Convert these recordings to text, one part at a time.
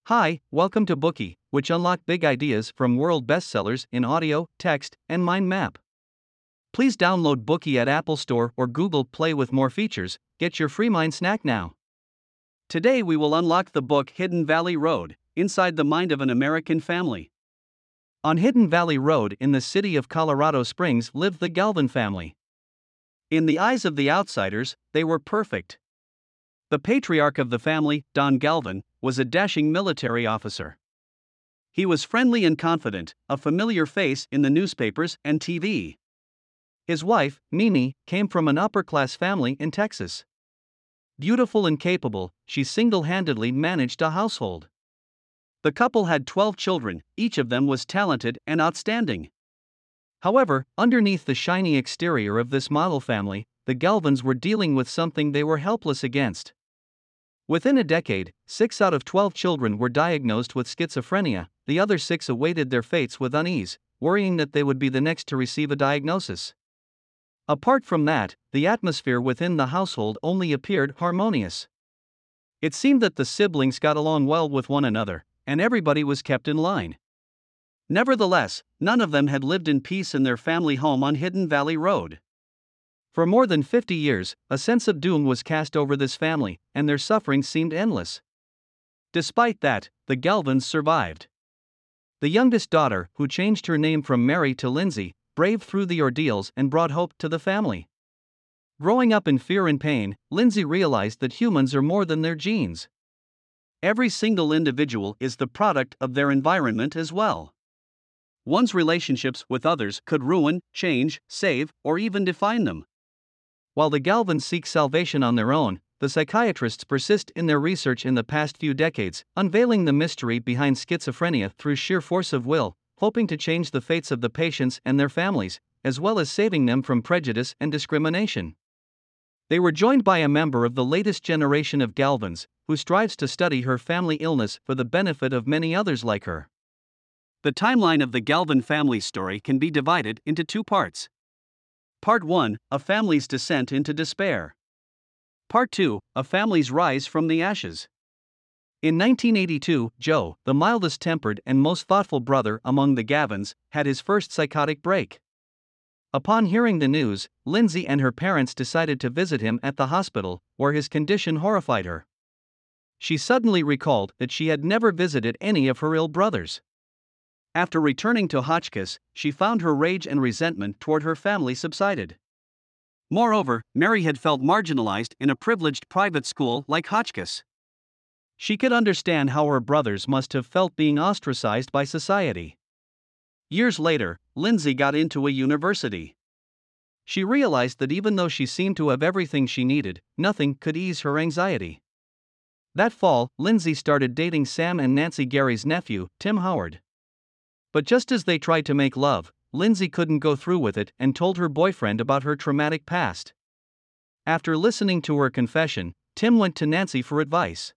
Hi, welcome to Bookie, which unlock big ideas from world bestsellers in audio, text, and mind map. Please download Bookie at Apple Store or Google Play with more features. Get your free mind snack now. Today we will unlock the book Hidden Valley Road, Inside the Mind of an American Family. On Hidden Valley Road in the city of Colorado Springs lived the Galvin family. In the eyes of the outsiders, they were perfect. The patriarch of the family, Don Galvin, was a dashing military officer. He was friendly and confident, a familiar face in the newspapers and TV. His wife, Mimi, came from an upper-class family in Texas. Beautiful and capable, she single-handedly managed a household. The couple had 12 children, each of them was talented and outstanding. However, underneath the shiny exterior of this model family, the Galvins were dealing with something they were helpless against. Within a decade, 6 out of 12 children were diagnosed with schizophrenia. The other 6 awaited their fates with unease, worrying that they would be the next to receive a diagnosis. Apart from that, the atmosphere within the household only appeared harmonious. It seemed that the siblings got along well with one another, and everybody was kept in line. Nevertheless, none of them had lived in peace in their family home on Hidden Valley Road. For more than 50 years, a sense of doom was cast over this family, and their suffering seemed endless. Despite that, the Galvins survived. The youngest daughter, who changed her name from Mary to Lindsay, braved through the ordeals and brought hope to the family. Growing up in fear and pain, Lindsay realized that humans are more than their genes. Every single individual is the product of their environment as well. One's relationships with others could ruin, change, save, or even define them. While the Galvins seek salvation on their own, the psychiatrists persist in their research in the past few decades, unveiling the mystery behind schizophrenia through sheer force of will, hoping to change the fates of the patients and their families, as well as saving them from prejudice and discrimination. They were joined by a member of the latest generation of Galvins, who strives to study her family illness for the benefit of many others like her. The timeline of the Galvin family story can be divided into 2 parts. Part 1, a family's descent into despair. Part 2, a family's rise from the ashes. In 1982, Joe, the mildest-tempered and most thoughtful brother among the Galvins, had his first psychotic break. Upon hearing the news, Lindsay and her parents decided to visit him at the hospital, where his condition horrified her. She suddenly recalled that she had never visited any of her ill brothers. After returning to Hotchkiss, she found her rage and resentment toward her family subsided. Moreover, Mary had felt marginalized in a privileged private school like Hotchkiss. She could understand how her brothers must have felt being ostracized by society. Years later, Lindsay got into a university. She realized that even though she seemed to have everything she needed, nothing could ease her anxiety. That fall, Lindsay started dating Sam and Nancy Gary's nephew, Tim Howard. But just as they tried to make love, Lindsay couldn't go through with it and told her boyfriend about her traumatic past. After listening to her confession, Tim went to Nancy for advice.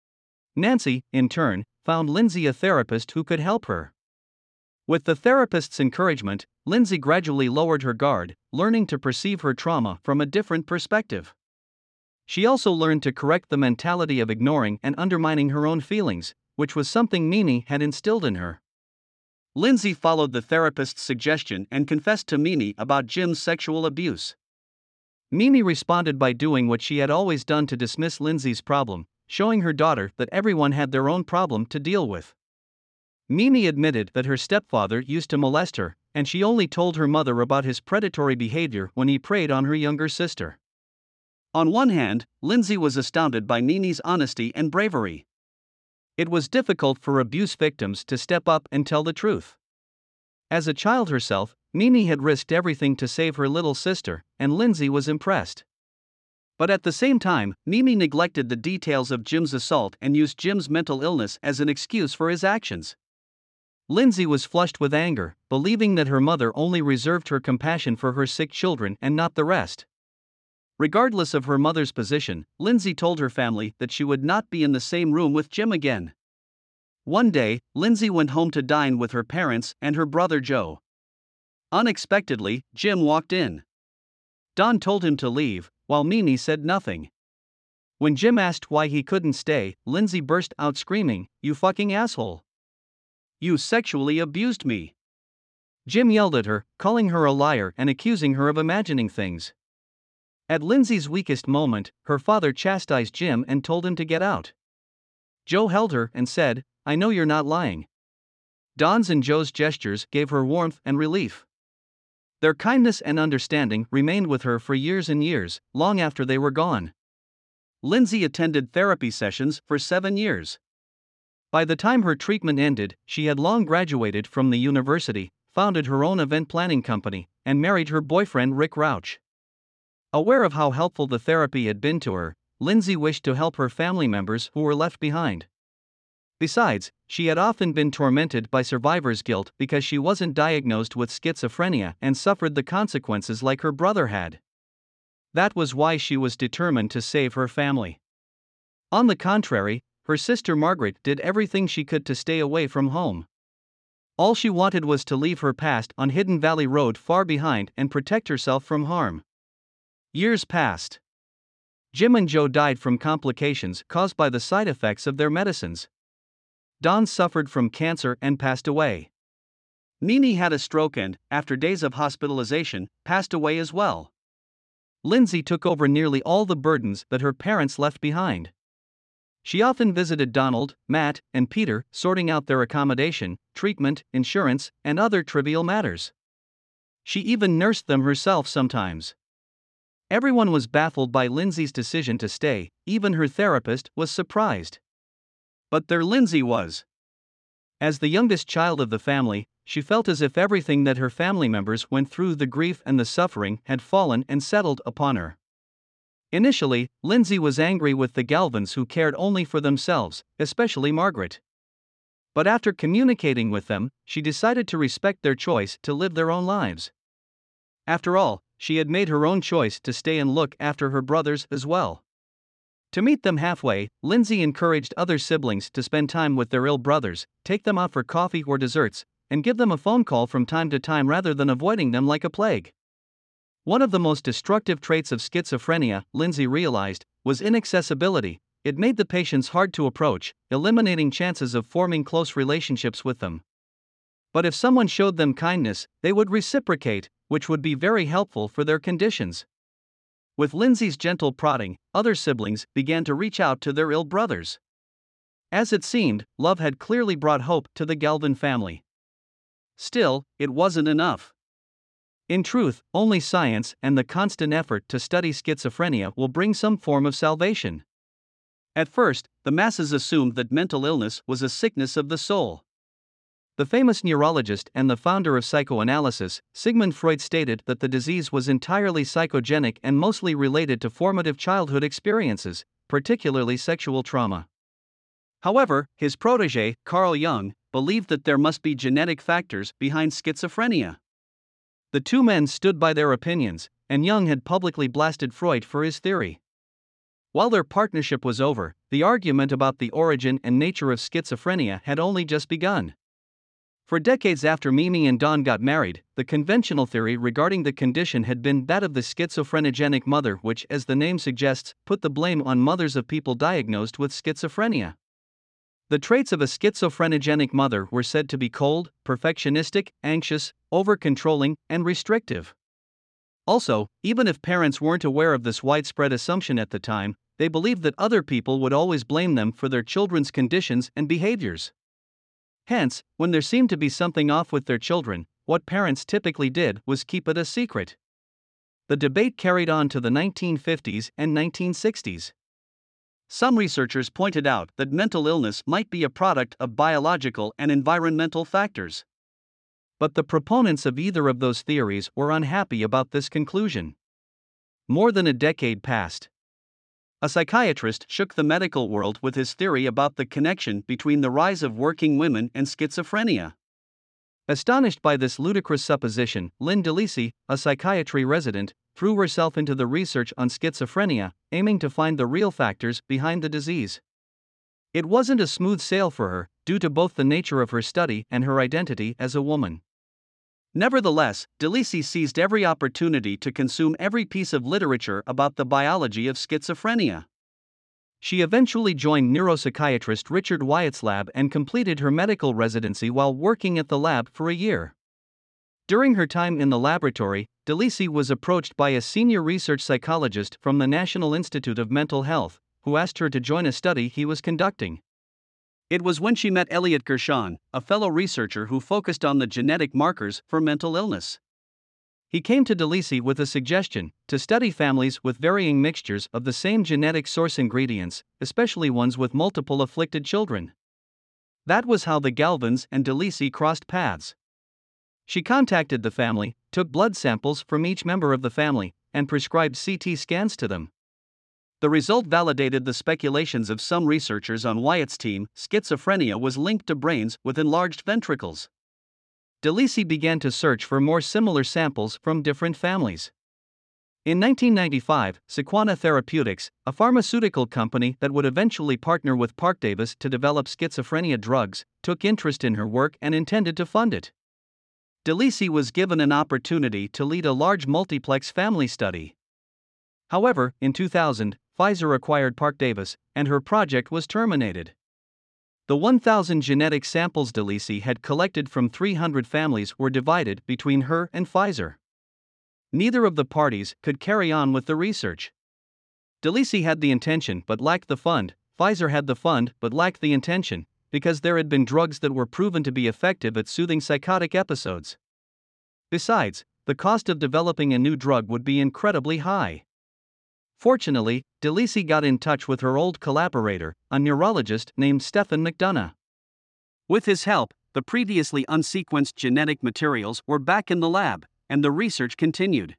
Nancy, in turn, found Lindsay a therapist who could help her. With the therapist's encouragement, Lindsay gradually lowered her guard, learning to perceive her trauma from a different perspective. She also learned to correct the mentality of ignoring and undermining her own feelings, which was something Mimi had instilled in her. Lindsay followed the therapist's suggestion and confessed to Mimi about Jim's sexual abuse. Mimi responded by doing what she had always done to dismiss Lindsay's problem, showing her daughter that everyone had their own problem to deal with. Mimi admitted that her stepfather used to molest her, and she only told her mother about his predatory behavior when he preyed on her younger sister. On one hand, Lindsay was astounded by Mimi's honesty and bravery. It was difficult for abuse victims to step up and tell the truth. As a child herself, Mimi had risked everything to save her little sister, and Lindsay was impressed. But at the same time, Mimi neglected the details of Jim's assault and used Jim's mental illness as an excuse for his actions. Lindsay was flushed with anger, believing that her mother only reserved her compassion for her sick children and not the rest. Regardless of her mother's position, Lindsay told her family that she would not be in the same room with Jim again. One day, Lindsay went home to dine with her parents and her brother Joe. Unexpectedly, Jim walked in. Don told him to leave, while Mimi said nothing. When Jim asked why he couldn't stay, Lindsay burst out screaming, "You fucking asshole! You sexually abused me!" Jim yelled at her, calling her a liar and accusing her of imagining things. At Lindsay's weakest moment, her father chastised Jim and told him to get out. Joe held her and said, "I know you're not lying." Don's and Joe's gestures gave her warmth and relief. Their kindness and understanding remained with her for years and years, long after they were gone. Lindsay attended therapy sessions for 7 years. By the time her treatment ended, she had long graduated from the university, founded her own event planning company, and married her boyfriend Rick Rauch. Aware of how helpful the therapy had been to her, Lindsay wished to help her family members who were left behind. Besides, she had often been tormented by survivor's guilt because she wasn't diagnosed with schizophrenia and suffered the consequences like her brother had. That was why she was determined to save her family. On the contrary, her sister Margaret did everything she could to stay away from home. All she wanted was to leave her past on Hidden Valley Road far behind and protect herself from harm. Years passed. Jim and Joe died from complications caused by the side effects of their medicines. Don suffered from cancer and passed away. Nene had a stroke and, after days of hospitalization, passed away as well. Lindsay took over nearly all the burdens that her parents left behind. She often visited Donald, Matt, and Peter, sorting out their accommodation, treatment, insurance, and other trivial matters. She even nursed them herself sometimes. Everyone was baffled by Lindsay's decision to stay, even her therapist was surprised. But there Lindsay was. As the youngest child of the family, she felt as if everything that her family members went through, the grief and the suffering, had fallen and settled upon her. Initially, Lindsay was angry with the Galvins who cared only for themselves, especially Margaret. But after communicating with them, she decided to respect their choice to live their own lives. After all, she had made her own choice to stay and look after her brothers as well. To meet them halfway, Lindsay encouraged other siblings to spend time with their ill brothers, take them out for coffee or desserts, and give them a phone call from time to time rather than avoiding them like a plague. One of the most destructive traits of schizophrenia, Lindsay realized, was inaccessibility. It made the patients hard to approach, eliminating chances of forming close relationships with them. But if someone showed them kindness, they would reciprocate, which would be very helpful for their conditions. With Lindsay's gentle prodding, other siblings began to reach out to their ill brothers. As it seemed, love had clearly brought hope to the Galvin family. Still, it wasn't enough. In truth, only science and the constant effort to study schizophrenia will bring some form of salvation. At first, the masses assumed that mental illness was a sickness of the soul. The famous neurologist and the founder of psychoanalysis, Sigmund Freud, stated that the disease was entirely psychogenic and mostly related to formative childhood experiences, particularly sexual trauma. However, his protege, Carl Jung, believed that there must be genetic factors behind schizophrenia. The two men stood by their opinions, and Jung had publicly blasted Freud for his theory. While their partnership was over, the argument about the origin and nature of schizophrenia had only just begun. For decades after Mimi and Don got married, the conventional theory regarding the condition had been that of the schizophrenogenic mother, which, as the name suggests, put the blame on mothers of people diagnosed with schizophrenia. The traits of a schizophrenogenic mother were said to be cold, perfectionistic, anxious, over-controlling, and restrictive. Also, even if parents weren't aware of this widespread assumption at the time, they believed that other people would always blame them for their children's conditions and behaviors. Hence, when there seemed to be something off with their children, what parents typically did was keep it a secret. The debate carried on to the 1950s and 1960s. Some researchers pointed out that mental illness might be a product of biological and environmental factors. But the proponents of either of those theories were unhappy about this conclusion. More than a decade passed. A psychiatrist shook the medical world with his theory about the connection between the rise of working women and schizophrenia. Astonished by this ludicrous supposition, Lynn DeLisi, a psychiatry resident, threw herself into the research on schizophrenia, aiming to find the real factors behind the disease. It wasn't a smooth sail for her, due to both the nature of her study and her identity as a woman. Nevertheless, DeLisi seized every opportunity to consume every piece of literature about the biology of schizophrenia. She eventually joined neuropsychiatrist Richard Wyatt's lab and completed her medical residency while working at the lab for a year. During her time in the laboratory, DeLisi was approached by a senior research psychologist from the National Institute of Mental Health, who asked her to join a study he was conducting. It was when she met Elliot Gershon, a fellow researcher who focused on the genetic markers for mental illness. He came to DeLisi with a suggestion to study families with varying mixtures of the same genetic source ingredients, especially ones with multiple afflicted children. That was how the Galvins and DeLisi crossed paths. She contacted the family, took blood samples from each member of the family, and prescribed CT scans to them. The result validated the speculations of some researchers on Wyatt's team. Schizophrenia was linked to brains with enlarged ventricles. DeLisi began to search for more similar samples from different families. In 1995, Sequana Therapeutics, a pharmaceutical company that would eventually partner with Parke-Davis to develop schizophrenia drugs, took interest in her work and intended to fund it. DeLisi was given an opportunity to lead a large multiplex family study. However, in 2000, Pfizer acquired Parke-Davis, and her project was terminated. The 1,000 genetic samples DeLisi had collected from 300 families were divided between her and Pfizer. Neither of the parties could carry on with the research. DeLisi had the intention but lacked the fund, Pfizer had the fund but lacked the intention, because there had been drugs that were proven to be effective at soothing psychotic episodes. Besides, the cost of developing a new drug would be incredibly high. Fortunately, DeLisi got in touch with her old collaborator, a neurologist named Stephen McDonough. With his help, the previously unsequenced genetic materials were back in the lab, and the research continued.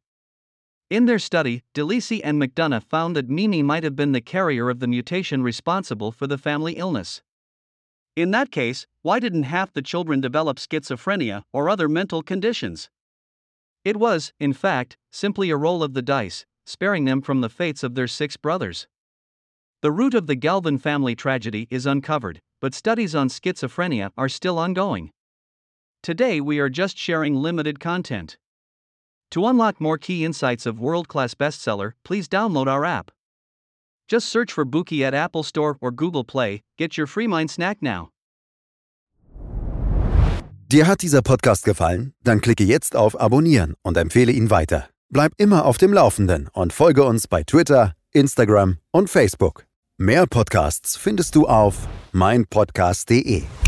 In their study, DeLisi and McDonough found that Mimi might have been the carrier of the mutation responsible for the family illness. In that case, why didn't half the children develop schizophrenia or other mental conditions? It was, in fact, simply a roll of the dice, sparing them from the fates of their 6 brothers. The root of the Galvin family tragedy is uncovered, but studies on schizophrenia are still ongoing. Today we are just sharing limited content. To unlock more key insights of world-class bestseller, please download our app. Just search for Bookey at Apple Store or Google Play, get your free mind snack now. Dir hat dieser Podcast gefallen? Dann klicke jetzt auf Abonnieren und empfehle ihn weiter. Bleib immer auf dem Laufenden und folge uns bei Twitter, Instagram und Facebook. Mehr Podcasts findest du auf meinpodcast.de.